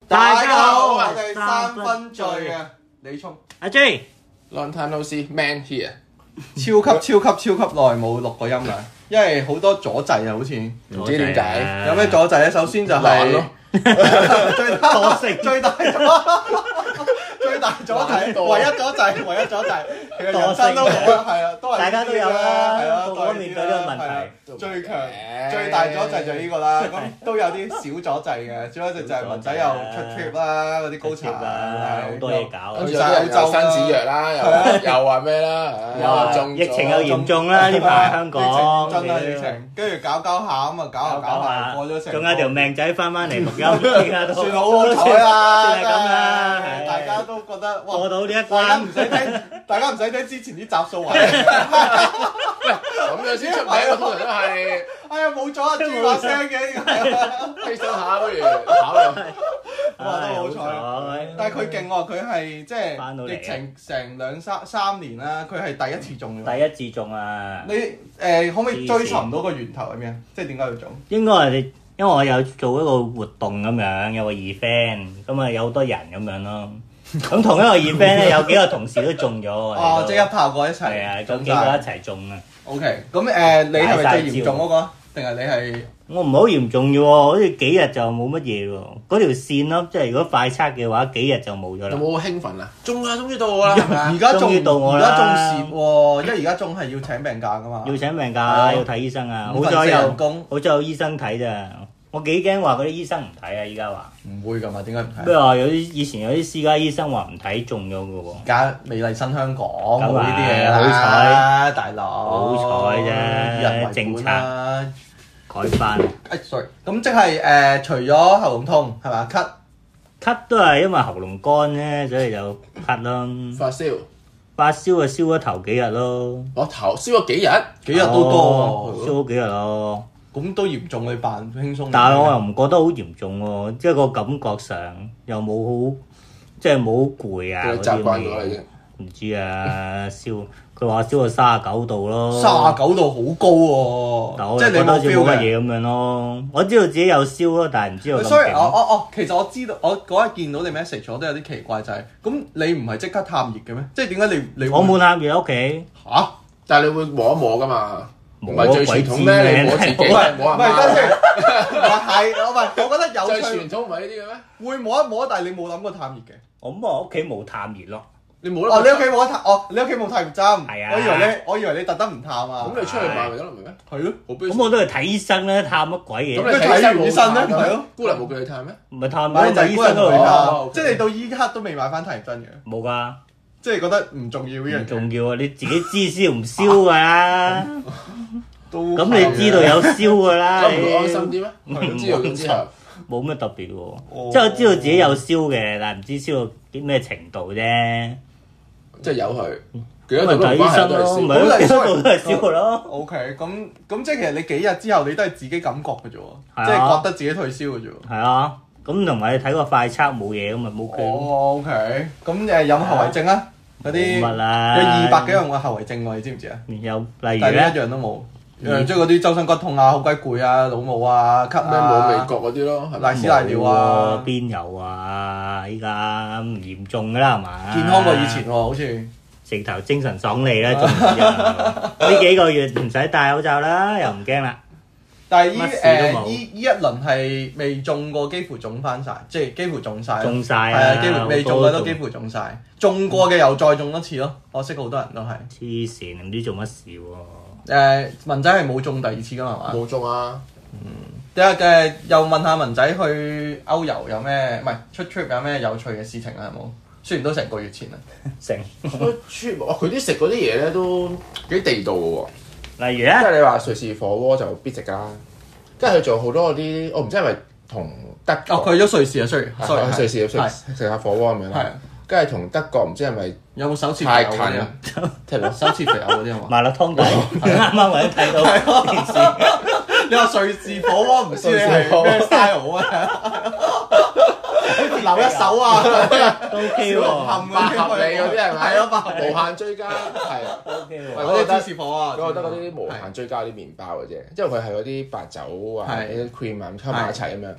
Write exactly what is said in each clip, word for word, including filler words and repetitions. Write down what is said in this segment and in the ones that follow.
大家好，我哋三分醉嘅李聰、 阿 J、Long time no see man here， 超級超級超級耐冇錄過音啦，因為好多阻滯啊，好似唔知點解。 有咩阻滯咧？首先就係咯， 最大最大阻最大阻滯，唯一阻滯，唯一阻滯，其實人生都冇啦，係啊，都係大家都有啦， 係啊， 個個面對呢個問題。 最強最大阻滯就係呢個啦，咁都有啲小阻滯嘅，小阻滯就係文仔又出 trip 啦，嗰啲高潮啦，好多嘢搞。 跟住有啲人又生子藥啦，又又話咩啦，又中疫情又嚴重啦，呢排香港。 真係疫情，跟住搞搞下咁啊，搞下搞下過咗成， 仲有條命仔翻返嚟錄音， 算好好彩啦， 算係咁啦， 大家都覺得過到呢一關，大家唔使聽，大家唔使聽之前啲集數位。 咁樣先出名啊！通常都係， 哎呀冇咗啊，豬把聲嘅， 犧牲下不如考慮。 哇，都好彩，但係佢勁喎，佢係即係疫情成兩三三年啦，佢係第一次中嘅。 第一次中啊！ 你誒可唔可以追尋到個源頭係咩？即係點解要中？ 應該係你，因為我有做一個活動咁樣，有個 event，咁啊有好多人咁樣咯。咁同一個 event 咧，有幾個同事都中咗。 哦，即係一炮過一齊。 係啊，咁幾個一齊中啊。 O K，咁誒，你係咪最嚴重嗰個？定係你係？ 我唔係好嚴重嘅喎，好似幾日就冇乜嘢喎。嗰條線咯，即係如果快測嘅話，幾日就冇咗啦。 有冇興奮啊？中啊，終於到我啦！ 而家終於到我啦！ 而家仲蝕喎，因為而家仲係要請病假噶嘛。 要請病假，要睇醫生啊！好在有工，好在有醫生睇咋。我幾驚話嗰啲醫生唔睇啊！依家話唔會㗎嘛？點解唔睇？ 咩話有啲以前有啲私家醫生話唔睇中咗嘅喎。 而家美麗新香港冇呢啲嘢好彩， 大佬好彩啫，政策改翻。 誒，sorry，咁即係誒，除咗喉嚨痛係嘛？咳咳都係因為喉嚨乾咧，所以就咳咯。 發燒， 發燒啊，燒咗頭幾日咯。 我頭燒咗幾日， 幾日都多喎，燒咗幾日咯。 咁都嚴重，你扮輕鬆。 但係我又唔覺得好嚴重喎，即係個感覺上又冇好，即係冇好攰啊嗰啲嘢。唔知啊，燒佢話燒到三十九度咯。 三十九度好高喎， 但我即係你冇 feel 嘅嘢咁樣咯。我知道自己有燒咯，但係唔知道咁勁。 所以我我我其實我知道，我嗰日見到你 message 我都有啲奇怪，就係咁你唔係即刻探熱嘅咩？即係點解你你我冇探熱喺屋企嚇？但係你會摸一摸㗎嘛？唔係最傳統咩？ 你摸自己，唔係摸人。 唔係等先，唔係我唔係，我覺得有最傳統唔係呢啲嘅咩？ 會摸一摸，但係你冇諗過探熱嘅。 我咁我屋企冇探熱咯。 你冇哦，你屋企冇得探，哦，你屋企冇探熱針。 係啊。 我以為你，我以為你特登唔探啊。 咁你出去買咪得咯，唔係咩？ 係咯。 咁我都係睇醫生咧，探乜鬼嘢？ 咁你睇完醫生咧，係咯。 姑娘冇叫你探咩？ 唔係探咪就係醫生嗰度探。即係你到依刻都未買翻探熱針嘅。 冇㗎。 即係覺得唔重要呢樣嘢。 唔重要啊！你自己知燒唔燒㗎啦。 都。 咁你知道有燒㗎啦。 咁唔會安心啲咩？唔知道咗之後。 冇咩特別喎，即係我知道自己有燒嘅，但係唔知燒到啲咩程度啫。 即係有佢，幾多度都睇醫生咯，唔係幾多度都係燒嘅咯。 O K，咁咁即係其實你幾日之後你都係自己感覺嘅啫喎，即係覺得自己退燒嘅啫喎。 係啊，咁同埋你睇個快測冇嘢咁咪冇 K 咯。 哦 O K，咁誒有冇後遺症啊？嗰啲冇乜啦， 有二百幾樣嘅後遺症喎，你知唔知啊？ 有例如咧， 但係一樣都冇。誒，即係嗰啲周身骨痛啊、好鬼攰啊、老母啊、咳咩冇味覺嗰啲咯， 瀨屎瀨尿啊， 邊有啊？依家唔嚴重㗎啦，係嘛？ 健康過以前喎，好似直頭精神爽利啦，仲呢幾個月唔使戴口罩啦，又唔驚啦。 但係依誒依依一輪係未中過，幾乎中翻晒，即係幾乎中晒。 中晒係啊，幾乎未中嘅都幾乎中晒。中過嘅又再中一次咯，我識好多人都係。 黐線，唔知做乜事喎。 誒文仔係冇中第二次㗎嘛？係嘛？ 冇中啊！ 嗯，第日誒又問下文仔去歐遊有咩？唔係出 trip 有咩有趣嘅事情啊？有冇？雖然都成個月前啦。 成出 trip 佢啲食嗰啲嘢咧都幾地道嘅喎。 例如咧， 即係你話瑞士火鍋就必食㗎，跟住佢做好多嗰啲，我唔知係咪同德國。 哦，佢去咗瑞士啊，sorry， 去瑞士食食下火鍋咁樣啦。跟住同德國唔知係咪有冇手切太近啊？ 聽到手切肥牛嗰啲啊嘛？ 麻辣湯底，啱啱我都睇到電視。 你話瑞士火鍋唔知你係咩 style 啊？留一手啊， 都 OK 喎， 八合理嗰啲係咪？ 係咯， 無限追加係啊 OK 喎。 嗰啲芝士火啊， 我覺得嗰啲無限追加啲麵包嘅啫，因為佢係嗰啲白酒啊、啲 cream 啊咁溝埋一齊咁樣。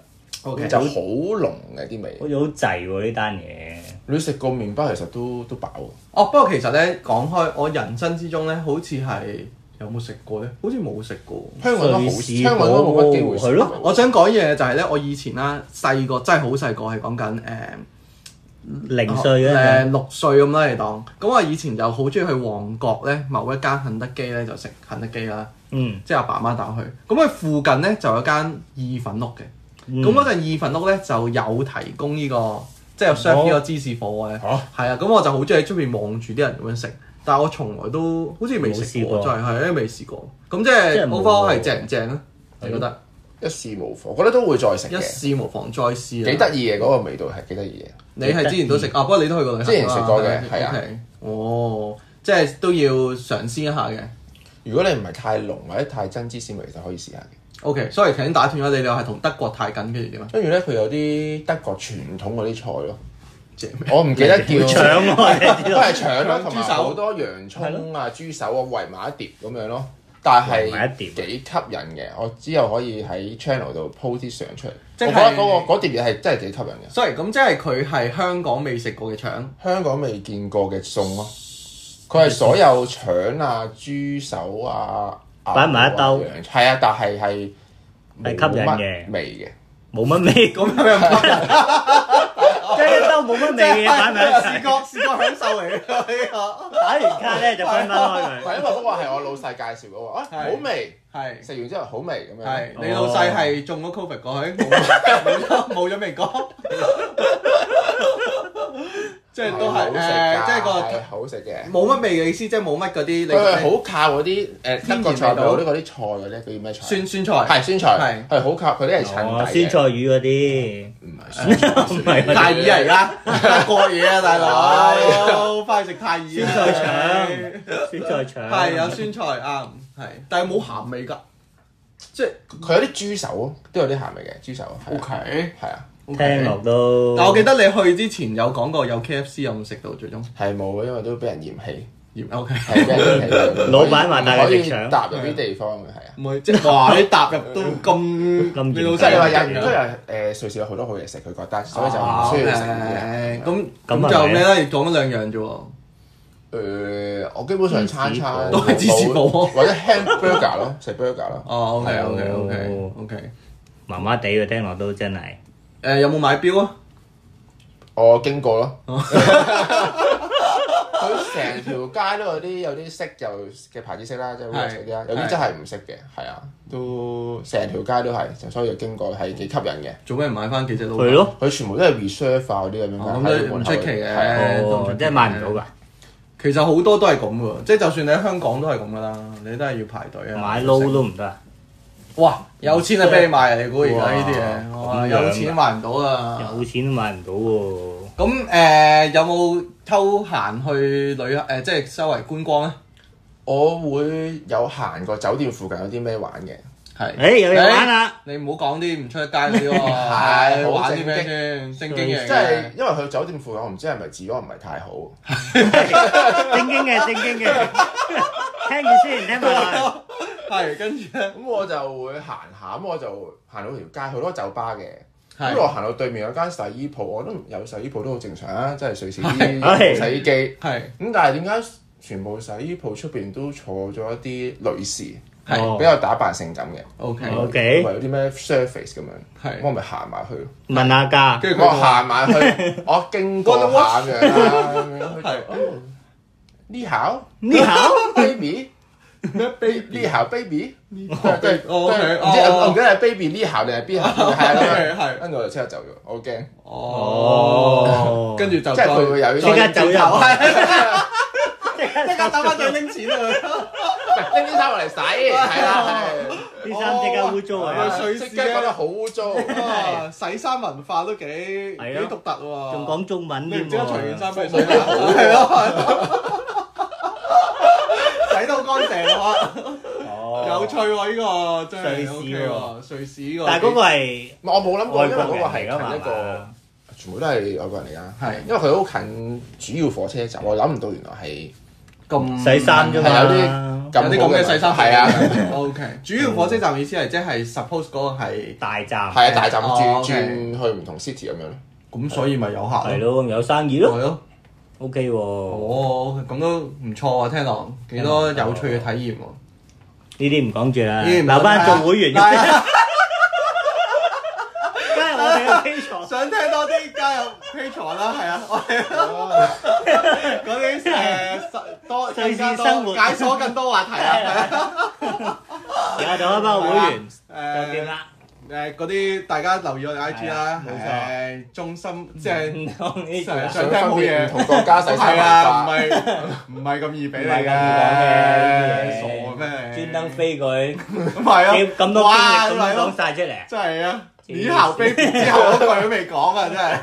，OK 就好濃嘅啲味。 好似好滯喎呢單嘢。 你食過麵包其實都都飽。 哦，不過其實咧講開，我人生之中咧，好似係有冇食過咧？好似冇食過。 香港都好， 瑞士香港都冇乜機會食。 係咯。 我想講嘢就係咧，我以前啦細個真係好細個，係講緊誒零歲誒嘅六歲咁啦，你當。咁我以前就好中意去旺角咧，某一間肯德基咧就食肯德基啦。 嗯， 即係阿爸媽帶我去。咁佢附近咧就有間意粉屋嘅。咁嗰陣意粉屋咧就有提供呢個。即係 serve 呢個芝士火嘅，係啊，咁我就好中意喺出邊望住啲人咁樣食，但係我從來都好似未食過，真係係未試過。咁即係 overall 係正唔正咧？你覺得？ 一試無妨，我覺得都會再食嘅。 一試無妨再試啊！ 幾得意嘅嗰個味道係幾得意嘅。 你係之前都食啊？不過你都去過旅行。 之前食過嘅，係啊。 哦，即係都要嘗試一下嘅。 如果你唔係太濃或者太真芝士味，就可以試下嘅。 O.K. sorry，頭先打斷咗你，你話係同德國太近，跟住點啊？ 跟住咧，佢有啲德國傳統嗰啲菜咯，我唔記得叫腸咯， 都係腸咯，同埋好多洋葱啊、豬手啊圍埋一碟咁樣咯。但係幾吸引嘅，我之後可以喺 channel 度 po 啲相出嚟。我覺得嗰個嗰碟嘢係真係幾吸引嘅。 sorry，咁即係佢係香港未食過嘅腸， 香港未見過嘅餸咯。佢係所有腸啊、豬手啊。 擺埋一兜， 係啊，但係係係吸引嘅味嘅， 冇乜味咁樣吸引， 即係一兜冇乜味嘅擺埋一齊， 視覺視覺享受嚟嘅呢個。 打完卡咧就分分開佢。 係因為嗰個係我老細介紹嘅喎，啊好味， 係食完之後好味咁樣。 係你老細係中咗 Covid 過去，冇咗冇咗味講。即係都係誒，即係個好食嘅， 冇乜味嘅意思，即係冇乜嗰啲。 佢係好靠嗰啲誒德國菜嗰啲嗰啲菜嗰啲，叫咩菜？ 酸酸菜係酸菜，係好靠佢啲係襯底嘅。 酸菜魚嗰啲唔係酸菜， 唔係泰爾嚟㗎，德國嘢啊，大佬，翻去食泰爾。 酸菜腸，酸菜腸係有酸菜啱，係，但係冇鹹味㗎，即係佢有啲豬手都有啲鹹味嘅豬手。 O K， 係啊。 聽落都， 但我記得你去之前有講過有 K F C 有冇食到最終？ 係冇，因為都俾人嫌棄。 嫌 O K， 係俾人嫌棄。 老闆話帶佢食腸， 踏入啲地方嘅係啊。 唔係即係話你踏入都咁咁你老即係話細有都有誒瑞士有好多好嘢食，佢覺得，所以就唔需要食呢啲。 咁咁就咩咧？講咗兩樣啫喎。 誒，我基本上餐餐都係芝士堡或者 hamburger 咯，食 burger 咯。 哦，OK OK OK OK， 麻麻地嘅聽落都真係。 誒有冇買錶啊？ 我經過咯，佢成條街都有啲有啲識就嘅牌子識啦，即係好食啲啦。有啲真係唔識嘅，係啊，都成條街都係，所以就經過係幾吸引嘅。 做咩唔買翻幾隻都？ 係咯， 佢全部都係 reserve 化嗰啲咁樣， 咁都唔出奇嘅， 哦，即係買唔到㗎。 其實好多都係咁㗎，即係就算你喺香港都係咁㗎啦，你都係要排隊啊。 買撈都唔得。 哇！有錢就俾你買啊！你估而家呢啲嘢，哇！有錢都買唔到啊！ 有錢都買唔到喎。 咁誒有冇偷閒去旅行誒？即係周圍觀光咧？ 我會有行過酒店附近有啲咩玩嘅。 係。 誒有嘢玩啦！ 你唔好講啲唔出得街嗰啲喎。 係玩啲咩先？正經嘢。 即係因為佢酒店附近，我唔知係咪治安唔係太好。正經嘅正經嘅，聽住先，聽埋。 係，跟住咧， 咁我就會行下，咁我就行到條街，好多酒吧嘅。咁我行到對面有間洗衣鋪，我都有洗衣鋪都好正常啊，即係瑞士啲洗衣機。 係。咁但係點解全部洗衣鋪出邊都坐咗一啲女士， 係比較打扮性感嘅 ？OK OK。 同埋有啲咩 surface 咁樣， 係。 我咪行埋去咯。 問下價。 跟住我行埋去，我經過下咁樣啦，咁樣係。呢考呢考 baby。 咩 baby 呢校 baby， 呢校跟住唔知我唔記得係 baby 呢校定係邊校，係係， 跟住我就即刻走咗，我好驚。 哦， 跟住就即係佢會有即刻走入， 即刻打翻再拎錢啊！ 拎啲衫落嚟洗，係啦， 啲衫即刻污糟啊！ 瑞士即刻覺得好污糟， 洗衫文化都幾幾獨特喎， 仲講中文添喎， 即刻除件衫俾佢洗下，係咯。洗到乾淨啊！有趣喎，呢個真係 O K 喎，瑞士呢個。 但係嗰個係我冇諗過，因為嗰個係㗎嘛， 近一個，全部都係外國人嚟㗎。 係， 因為佢好近主要火車站，我諗唔到原來係咁洗衫啫嘛。 係有啲有啲咁嘅細心係啊。 O K， 主要火車站意思係即係 suppose 嗰個係大站， 係啊，大站轉轉去唔同 city 咁樣咯。 咁所以咪有客係咯，有生意咯。 係咯。 O K 喎。 哦，咁都唔錯啊！聽落幾多有趣嘅體驗喎。 呢啲唔講住啦，留翻做會員。加入我哋嘅 Patreon， 想聽多啲加入 Patreon啦，係啊，我哋嗰啲誒多瑞士生活解鎖更多話題啊，係啊。 而家做一班會員誒就點啦？ 誒嗰啲大家留意我哋 I G 啦， 冇錯。 誒中心即係係想聽好嘢， 唔同國家細係啊，唔係唔係咁易俾你嘅，傻咩？ 專登飛佢， 咁係啊， 咁多經歷咁講晒出嚟， 真係啊！以後飛之後嗰句都未講啊，真係。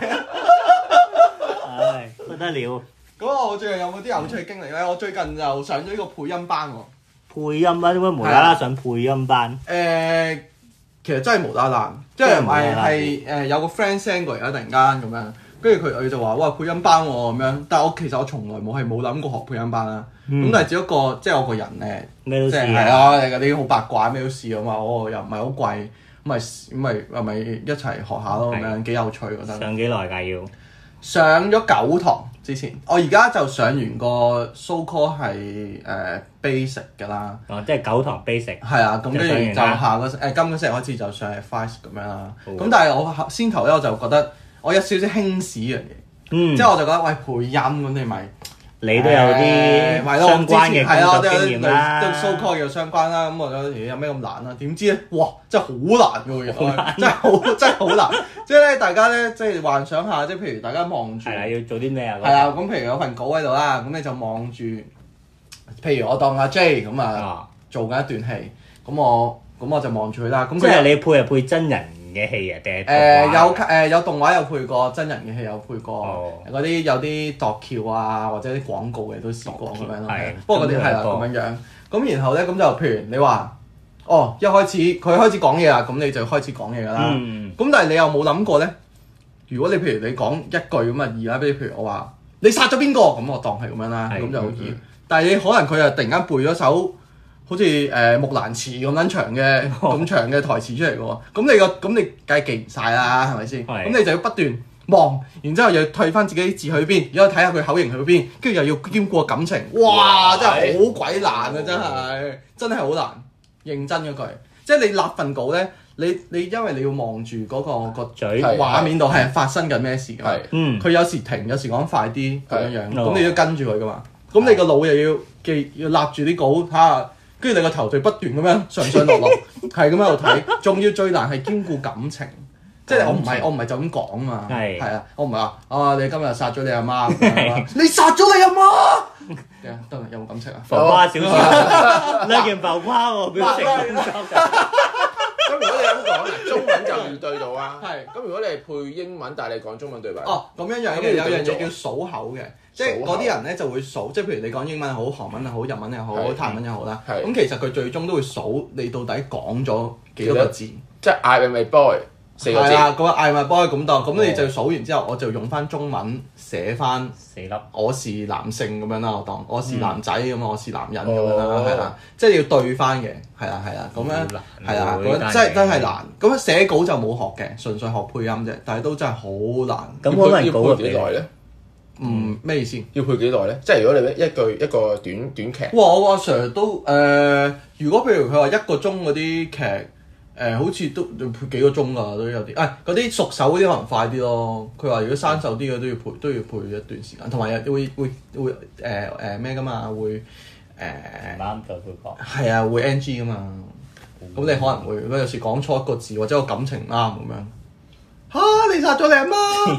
唉，不得了。 咁我最近有冇啲有趣嘅經歷咧？我最近就上咗呢個配音班喎。 配音啊？點解無啦啦上配音班？ 誒，其實真係無啦啦，即係唔係係誒有個 friend send 過嚟啦，突然間咁樣，跟住佢佢就話：哇，配音班喎咁樣。但係我其實我從來冇係冇諗過學配音班啦。咁但係只不過即係我個人咧， 咩都試係啊，嗰啲好八卦咩都試啊嘛。我又唔係好貴，咁咪咁咪咁咪一齊學下咯，咁樣幾有趣覺得。 上幾耐㗎要？ 上咗九堂之前，我而家就上完個 so call 係誒 basic 㗎啦。 哦，即係九堂 basic。 係啊，咁跟住就下個誒、呃、今個星期開始就上 advance 咁樣啦。咁、哦、但係我先頭咧我就覺得我有少少輕視呢樣嘢，嗯、即係我就覺得喂配音咁你咪。 你都有啲相關嘅工作經驗啦， 都 so call 有相關啦。咁我覺得有咩咁難啊？點知咧，哇！真係好難㗎喎，真係好真係好難。即係咧，大家咧即係幻想下，即係譬如大家望住， 係啊，要做啲咩啊？ 係啊，咁譬如有份稿喺度啦，咁你就望住，譬如我當阿 J 咁啊，做緊一段戲，咁我咁我就望住佢啦。咁即係你配係配真人嘅戲啊，定係誒有誒有動畫有配過，真人嘅戲有配過，嗰啲有啲度橋啊或者啲廣告嘅都試過咁樣咯。不過嗰啲係啦咁樣樣。咁然後咧咁就譬如你話，哦一開始佢開始講嘢啦，咁你就開始講嘢㗎啦。咁但係你又冇諗過咧，如果你譬如你講一句咁啊易啦，比如譬如我話你殺咗邊個，咁我當係咁樣啦，咁就好易。但係你可能佢又突然間背咗首好似誒木蘭辭咁撚長嘅咁長嘅台詞出嚟嘅喎，咁你個咁你梗係記唔晒啦，係咪先？咁你就要不斷望，然之後又退翻自己啲字去邊，然後睇下佢口型去邊，跟住又要兼顧感情，哇！真係好鬼難啊，真係真係好難，認真嗰句，即係你立份稿咧，你你因為你要望住嗰個個嘴畫面度係發生緊咩事㗎，佢有時停，有時講快啲咁樣樣，咁你都跟住佢㗎嘛，咁你個腦又要記要立住啲稿睇下。跟住你個頭就不斷咁樣上上落落，係咁喺度睇，仲要最難係兼顧感情，即係我唔係我唔係就咁講啊嘛，係啊，我唔係話啊你今日殺咗你阿媽，你殺咗你阿媽，得啦有冇感情啊？ 浮誇小説，兩件浮誇喎，表情工作㗎。 咁如果你咁講，中文就要對到啊。係。咁如果你係配英文，但係你講中文對白。 哦，咁樣樣嘅有樣嘢叫數口嘅。即係嗰啲人咧就會數，即係譬如你講英文好、韓文又好、日文又好、泰文又好啦。咁其實佢最終都會數你到底講咗幾多個字。 即係 I am a boy 四個字。 係啊，嗰個 I am a boy 咁當，咁你就數完之後，我就用翻中文寫翻四粒。 我是男性咁樣啦，我當我是男仔咁啊，我是男人咁樣啦，係啦，即係要對翻嘅，係啦係啦，咁樣係啦，咁真係真係難。咁寫稿就冇學嘅，純粹學配音啫，但係都真係好難。 咁可能要配幾耐咧？ 嗯，咩意思？ 要配幾耐咧？即係如果你一句一個短短劇， 哇！我阿 Sir 都誒、呃，如果譬如佢話一個鐘嗰啲劇，誒、呃、好似都要配幾個鐘㗎，都有啲。誒嗰啲熟手嗰啲可能快啲咯。佢話如果生手啲嘅都要配都要配一段時間，同埋會會會誒誒咩㗎嘛？會誒唔啱就會講。 係啊，會 N G 㗎嘛。咁、嗯、你可能會如果有時講錯一個字或者個感情唔啱咁樣。嚇、啊！你殺咗你阿媽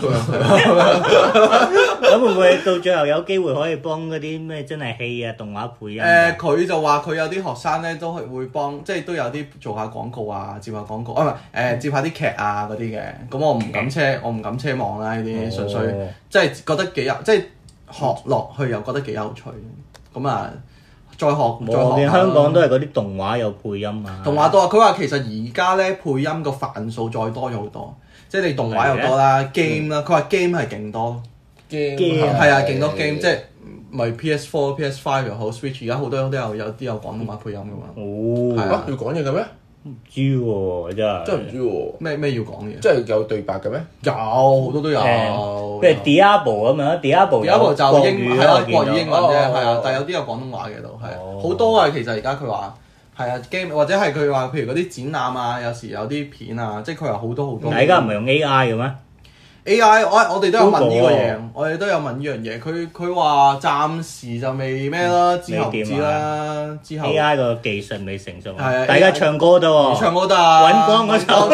咁會唔會到最後有機會可以幫嗰啲咩真係戲啊動畫配音？誒、 呃，佢就話佢有啲學生咧都係會幫，即係都有啲做下廣告啊，接下廣告啊，唔係誒接下啲劇啊嗰啲嘅。咁我唔敢奢，我唔敢奢望啦呢啲，純粹即係覺得幾有，即係學落去又覺得幾有趣。咁啊，再學再學下。 香港都係嗰啲動畫有配音啊。 動畫多啊！佢話其實而家咧配音個範數再多咗好多。即係你動畫又多啦 ，game 啦，佢話 game 係勁多 ，game 係啊，勁多 game，即係咪 P S 四、P S 五又好 ，Switch 而家好多都有有啲有廣東話配音噶嘛。 哦， 係啊， 要講嘢嘅咩？ 唔知喎，真係真係唔知喎。 咩咩要講嘢？ 即係有對白嘅咩？ 有好多都有。 譬如 Diablo 咁樣 ，Diablo ，Diablo 就英係啊，國語語英文啫，係啊，但係有啲有廣東話嘅都係好多啊。其實而家佢話係啊 game 或者係佢話譬如嗰啲展覽啊，有時有啲片啊，即係佢話好多好多。 而家唔係用 A I 嘅咩？ A I 我我哋都有問呢個嘢，我哋都有問呢樣嘢。佢佢話暫時就未咩啦，之後唔知啦。之後 A I 個技術未成熟， 係啊， 大家唱歌得喎， 唱歌得啊， 揾光嗰首，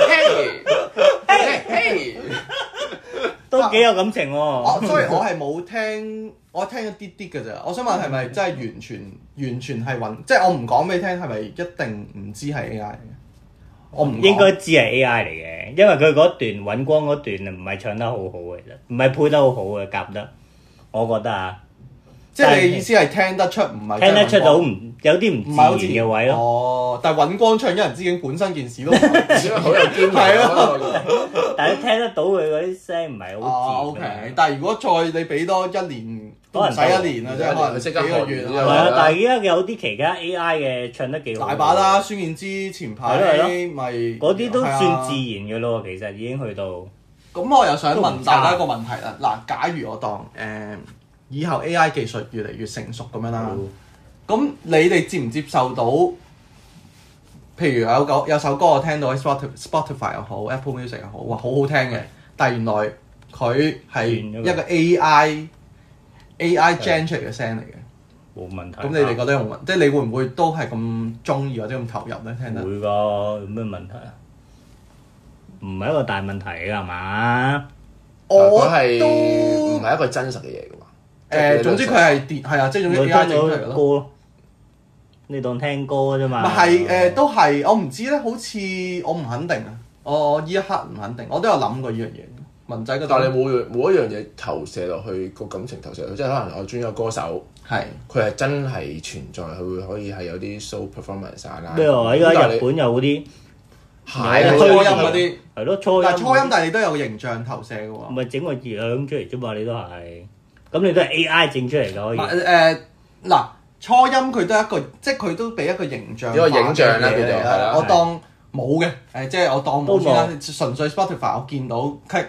嘿嘿， 都幾有感情喎。 所以我係冇聽，我聽一啲啲嘅咋。我想問係咪真係完全完全係揾？即係我唔講俾你聽，係咪一定唔知係 A I 嚟嘅？我唔應該知係 A I 嚟嘅，因為佢嗰段揾光嗰段唔係唱得好好嘅，其實唔係配得好好嘅，夾得，我覺得啊。 即係你意思係聽得出唔係聽得出到唔有啲唔自然嘅位咯。 哦，但係尹光唱一人之境本身件事都好有堅係咯。 但係聽得到佢嗰啲聲唔係好自然。 O K，但係如果再你俾多一年，都唔使一年啦，即係可能幾個月啦。 係啊，但係而家有啲其他 A I 嘅唱得幾好。 大把啦，孫燕姿前排咪嗰啲都算自然嘅咯，其實已經去到。 咁我又想問大家一個問題啦。嗱，假如我當誒以後 A I 技術越嚟越成熟咁樣啦，咁你哋接唔接受到？譬如有個有首歌我聽到喺 Spotify 又好 Apple Music 又好，哇好好聽嘅，但係原來佢係一個 A I A I generate 出嚟嘅聲嚟嘅， 冇問題。 咁你哋覺得有冇問？即係你會唔會都係咁中意或者咁投入咧？聽得會㗎，有咩問題啊？唔係一個大問題㗎係嘛？ 我係都唔係一個真實嘅嘢㗎嘛？ 誒，總之佢係電係啊，即係總之 A I 整出嚟咯。 歌，你當聽歌啫嘛。 咪係誒，都係我唔知咧，好似我唔肯定啊。我依一刻唔肯定，我都有諗過呢樣嘢。文仔嗰度， 但係你冇冇一樣嘢投射落去個感情投射落去，即係可能我中意個歌手， 係佢係真係存在，佢會可以係有啲 show performance 啦。 咩啊？依家日本有嗰啲係初音嗰啲， 係咯初音。 但係初音，但係你都有形象投射嘅喎。 唔係整個樣出嚟啫嘛，你都係。咁你都係 A I 整出嚟㗎可以。 誒嗱，初音佢都係一個，即係佢都俾一個形象。 一個影像啦，叫做係啦。 我當冇嘅，誒即係我當冇先啦。純粹 Spotify 我見到 click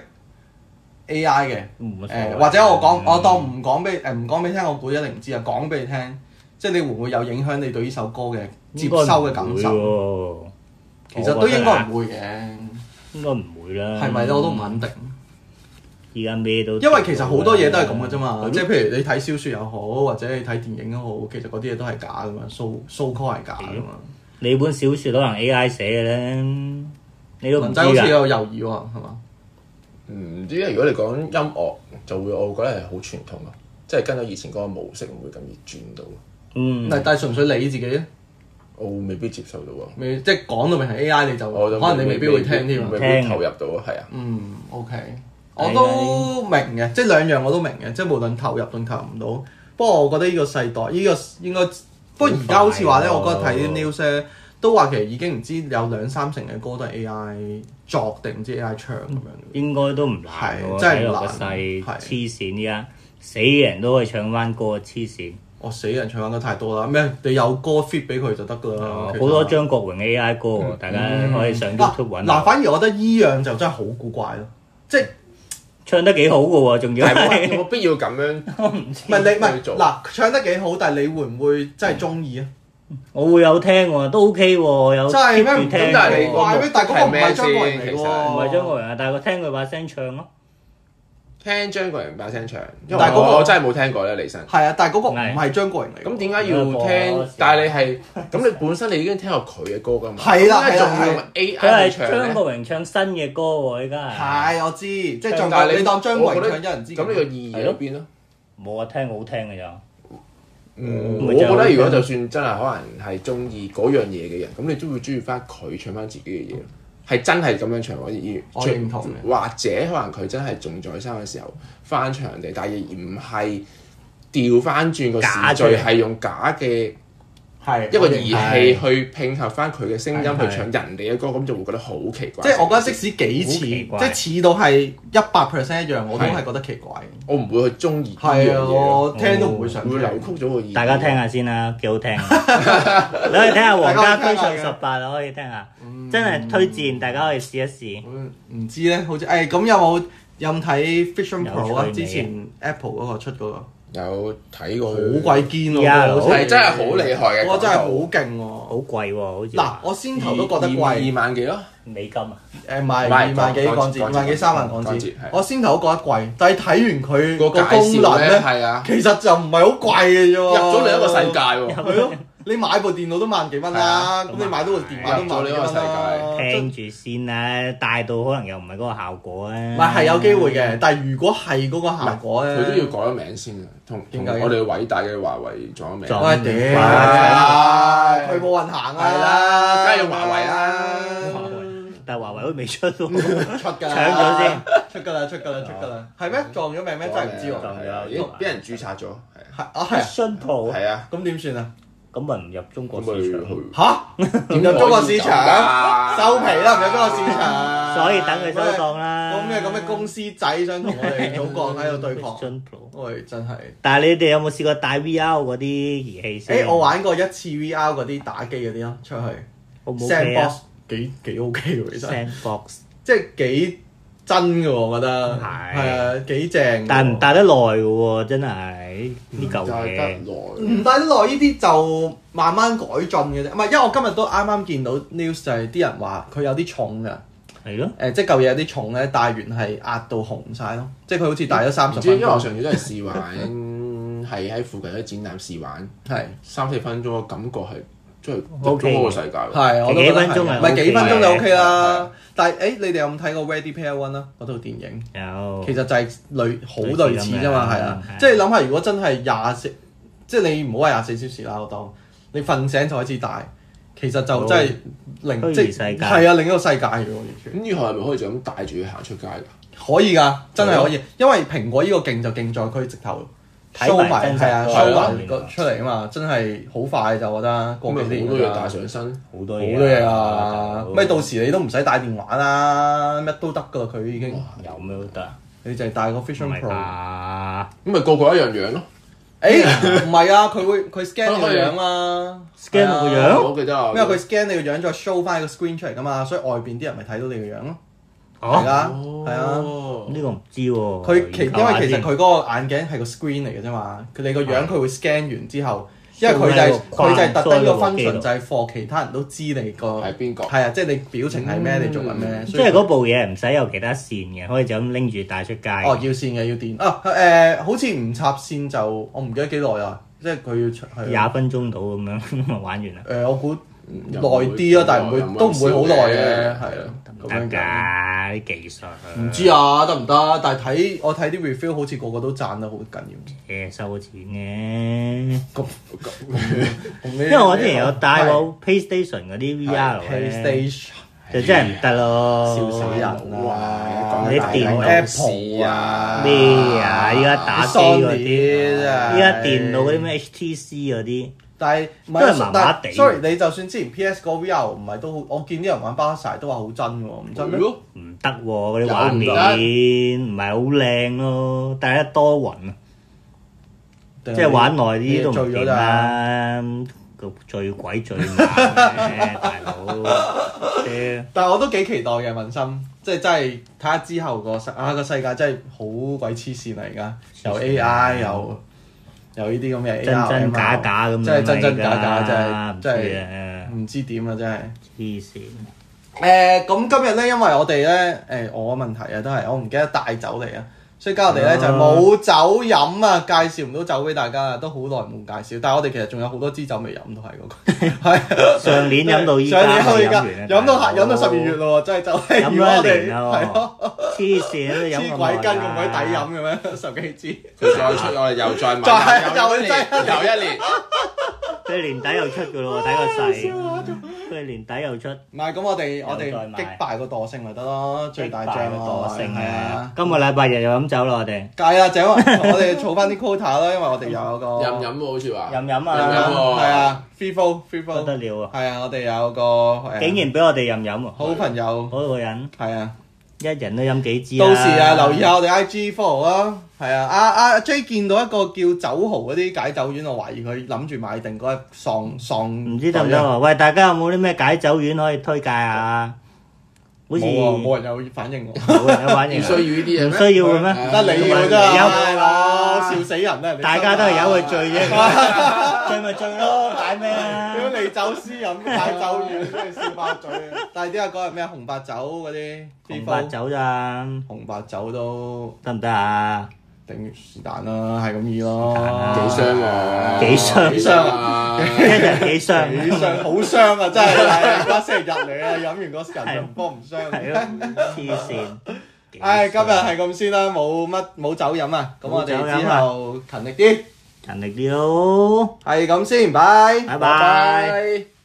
A I 嘅，誒或者我講我當唔講俾誒唔講俾你聽，我估一定唔知啊。講俾你聽，即係你會唔會有影響你對呢首歌嘅接收嘅感受？其實都應該唔會嘅， 應該唔會啦。 係咪咧？我都唔肯定。 而家咩都， 因為其實好多嘢都係咁嘅啫嘛，即係譬如你睇小説又好，或者你睇電影都好，其實嗰啲嘢都係假噶嘛，so so call 係假噶嘛。 你本小説可能 A I 寫嘅咧，你都唔知㗎。文仔好似有猶豫喎，係嘛？ 唔知啊，如果你講音樂，就會我覺得係好傳統咯，即係跟咗以前嗰個模式，唔會咁易轉到。 嗯， 但係純粹你自己咧， 我未必接受到喎。 未即係講到明係 A I，你就可能你未必會聽添， 未必投入到啊，係啊。 嗯 ，OK。我都明嘅，即係兩樣我都明嘅，即係無論投入定投入唔到。不過我覺得呢個世代，呢、呢個應該，不過而家好似話咧，我覺得睇啲 news 咧，都話其實已經唔知有兩三成嘅歌都係 A I 作定唔知 A I 唱咁樣。 應該都唔難喎， 真係唔難。 係黐線依家，死嘅人都可以唱翻歌，黐線。 我死人唱翻歌太多啦，咩？你有歌 fit 俾佢就得㗎啦。 好多張國榮 A I 歌喎，嗯、大家可以上 YouTube 揾。 嗱、嗯，反而我覺得依樣就真係好古怪咯，即係。 唱得幾好嘅喎，仲要係冇必要咁樣。 我唔知。 唔係你唔係嗱，唱得幾好，但係你會唔會真係中意啊？ 我會有聽喎，都 OK 喎，有 keep 住聽。 咁但係你怪咩？但係嗰個唔係張國榮嚟喎， 唔係張國榮啊，但係我聽佢把聲唱咯。 聽張國榮把聲唱，但係嗰個我真係冇聽過咧，李生。 係啊，但係嗰個唔係張國榮嚟。 咁點解要聽？但係你係咁，你本身你已經聽過佢嘅歌㗎嘛？ 係啦，係仲用 A I 唱咧？ 張國榮唱新嘅歌喎，依家係。係我知，即係仲但係你當張國榮唱一人之。 咁呢個意義喺邊咯？ 冇啊，聽好聽嘅咋。 嗯，我覺得如果就算真係可能係中意嗰樣嘢嘅人，咁你都會中意翻佢唱翻自己嘅嘢。係真係咁樣唱，我認我認同嘅。 或者可能佢真係仲在生嘅時候翻唱人哋，但係而唔係調翻轉個時序，係用假嘅係一個儀器去拼合翻佢嘅聲音去唱人哋嘅歌，咁就會覺得好奇怪。 即係我覺得即使幾似，即係似到係一百 percent 一樣，我都係覺得奇怪。 我唔會去中意呢樣嘢，我聽都唔會想，會扭曲咗個意。 大家聽下先啦，幾好聽。你可以聽下《皇家區上十八》可以聽下，真係推薦，大家可以試一試。 唔知咧，好似誒咁有冇有冇睇 Vision Pro 啊？之前 Apple 嗰個出嗰個。 有睇過， 好鬼堅喎， 係真係好厲害嘅， 我真係好勁喎， 好貴喎，好似嗱，我先頭都覺得貴， 二萬幾咯， 美金啊， 誒唔係二萬幾港紙，二萬幾三萬港紙，我先頭都覺得貴，但係睇完佢個功能咧，係啊，其實就唔係好貴嘅啫喎， 入咗另一個世界喎， 係咯。你買部電腦都萬幾蚊啦，咁你買到部電話都萬幾蚊啦。 聽住先啦，帶到可能又唔係嗰個效果咧。 唔係係有機會嘅，但係如果係嗰個效果咧， 佢都要改咗名先嘅，同同我哋偉大嘅華為撞咗名。 喂屌！佢冇運行啊， 梗係用華為啦。 但係華為都未出喎， 出㗎， 搶咗先， 出㗎啦，出㗎啦，出㗎啦。係咩？撞咗名咩？真係唔知喎。 撞咗，已經俾人註冊咗。 係啊係啊。 新鋪係啊， 咁點算啊？ 咁咪唔入中國市場嚇？唔入中國市場，收皮啦！唔入中國市場， 所以等佢收檔啦。 咁咩咁嘅公司仔想同我哋祖國喺度對抗？喂，真係！ 但係你哋有冇試過帶 V R 嗰啲儀器先？ 誒，我玩過一次 V R 嗰啲打機嗰啲咯，出去。Sandbox 幾幾 OK 喎，其實。 Sandbox 即係幾真嘅喎，我覺得。係。係啊，幾正。 但係唔帶得耐嘅喎，真係呢嚿嘢。 唔帶得耐呢啲就慢慢改進嘅啫。唔係，因為我今日都啱啱見到 news 就係啲人話佢有啲重㗎。 係咯。 誒，即係嚿嘢有啲重咧，帶完係壓到紅晒咯。即係佢好似帶咗三十分鐘。 因為我上次都係試玩，係喺附近啲展覽試玩，係三四分鐘嘅感覺係。即係入咗嗰個世界喎， 係我都幾分鐘係， 唔係幾分鐘就 OK 啦。但係誒，你哋有冇睇過 Ready Player One 啊？嗰套電影有， 其實就係類好類似啫嘛，係啊。即係諗下，如果真係廿四，即係你唔好話廿四小時啦，我當你瞓醒就開始戴，其實就真係另即係係啊另一個世界嘅喎，完全。 咁以後係咪可以就咁帶住佢行出街㗎？ 可以㗎，真係可以，因為蘋果呢個勁就勁在佢直頭。show 埋係啊 show 埋個出嚟啊嘛，真係好快就我覺得過幾年好多嘢帶上身， 好多好多嘢啊！咩到時你都唔使帶電話啦，乜都得噶啦，佢已經有咩都得， 你就係帶個 Vision Pro， 咁咪個個一樣樣咯。 誒唔係啊，佢會佢 scan 你個樣啊 ，scan 我個樣， 我記得啊， 因為佢 scan 你個樣再 show 翻個 screen 出嚟噶嘛，所以外邊啲人咪睇到你個樣咯。係啊，係啊， 呢個唔知喎。 佢其因為其實佢嗰個眼鏡係個 screen 嚟嘅啫嘛，佢你個樣佢會 scan 完之後，因為佢就係佢就係特登個 function 就係 for 其他人都知你個係邊個， 係啊，即係你表情係咩，你做緊咩。 即係嗰部嘢唔使有其他線嘅，可以就咁拎住帶出街。 哦，要線嘅要電啊誒，好似唔插線就我唔記得幾耐啊，即係佢要出廿分鐘到咁樣玩完啦。 誒，我估耐啲啊，但係唔會都唔會好耐嘅，係啊。 得㗎啲技術， 唔知啊得唔得？但係睇我睇啲 review 好似個個都讚得好緊要。 誒收錢嘅， 咁因為我之前有帶過 PlayStation 嗰啲 V R 咧，就真係唔得咯， 笑死人啦！ 啲電腦 Apple 啊咩啊，依家打機嗰啲，依家電腦嗰啲咩 H T C 嗰啲。 但係唔係麻麻地。sorry，你就算之前 P S 個 V R 唔係都好，我見啲人玩巴薩都話好真喎，唔真咩？ 唔得喎，嗰啲畫面唔係好靚咯，但係一多雲啊，即係玩耐啲都唔掂啦，個最鬼最慢嘅大佬。 但係我都幾期待嘅問心，即係真係睇下之後個世啊個世界真係好鬼黐線嚟而家，有 A I 有。有呢啲咁嘅 A R 真真假假咁樣， 真係真真假假，真係真係唔知點啊！真係黐線。 誒咁今日咧，因為我哋咧誒我嘅問題啊，都係我唔記得帶酒嚟啊，所以今日我哋咧就冇酒飲啊，介紹唔到酒俾大家啊，都好耐冇介紹。但係我哋其實仲有好多支酒未飲，都係嗰個係上年飲到依家， 上年去㗎，飲到飲到十二月咯喎，真係就係飲咗一年咯，黐線都飲咁耐， 黐鬼筋咁鬼抵飲嘅咩？十幾支， 再出我哋又再買， 又一年，又一年， 佢年底又出㗎咯喎，睇個勢，佢年底又出。 唔係咁，我哋我哋擊敗個惰性咪得咯，最大將惰性係啊！ 今個禮拜日又飲酒啦，我哋。 戒啊，酒啊！我哋儲翻啲 quota 啦，因為我哋有個飲飲喎，好似話。 飲飲啊！ 飲飲喎。 係啊 ，free flow free flow。 不得了啊！ 係啊，我哋有個竟然俾我哋飲飲喎！ 好朋友， 嗰個人係啊， 一人都飲幾支。 到時啊，留意下我哋 I G follow 啦。係啊，阿阿 J 見到一個叫酒豪嗰啲解酒丸，我懷疑佢諗住買定嗰一喪喪。 唔知得唔得喎？喂，大家有冇啲咩解酒丸可以推介下？好似冇人有反應喎， 冇人有反應。 唔需要呢啲嘢咩？ 唔需要嘅咩？ 得你要啫，係咯，笑死人啦！ 大家都係由佢醉啫，醉咪醉咯，解咩啊？ 如果你走私飲解酒丸，真係笑爆嘴啊！但係點解嗰日咩紅白酒嗰啲？ 紅白酒咋？ 紅白酒都得唔得啊？ 頂是但啦，係咁意咯。 幾箱喎？ 幾箱？ 幾箱啊？ 一日幾箱？ 幾箱？好傷啊！真係，而家星期日嚟啊，飲完嗰時人就唔幫唔傷。 係咯，黐線。 唉，今日係咁先啦，冇乜冇酒飲啊，咁我哋之後勤力啲， 勤力啲咯。 係咁先，拜拜拜。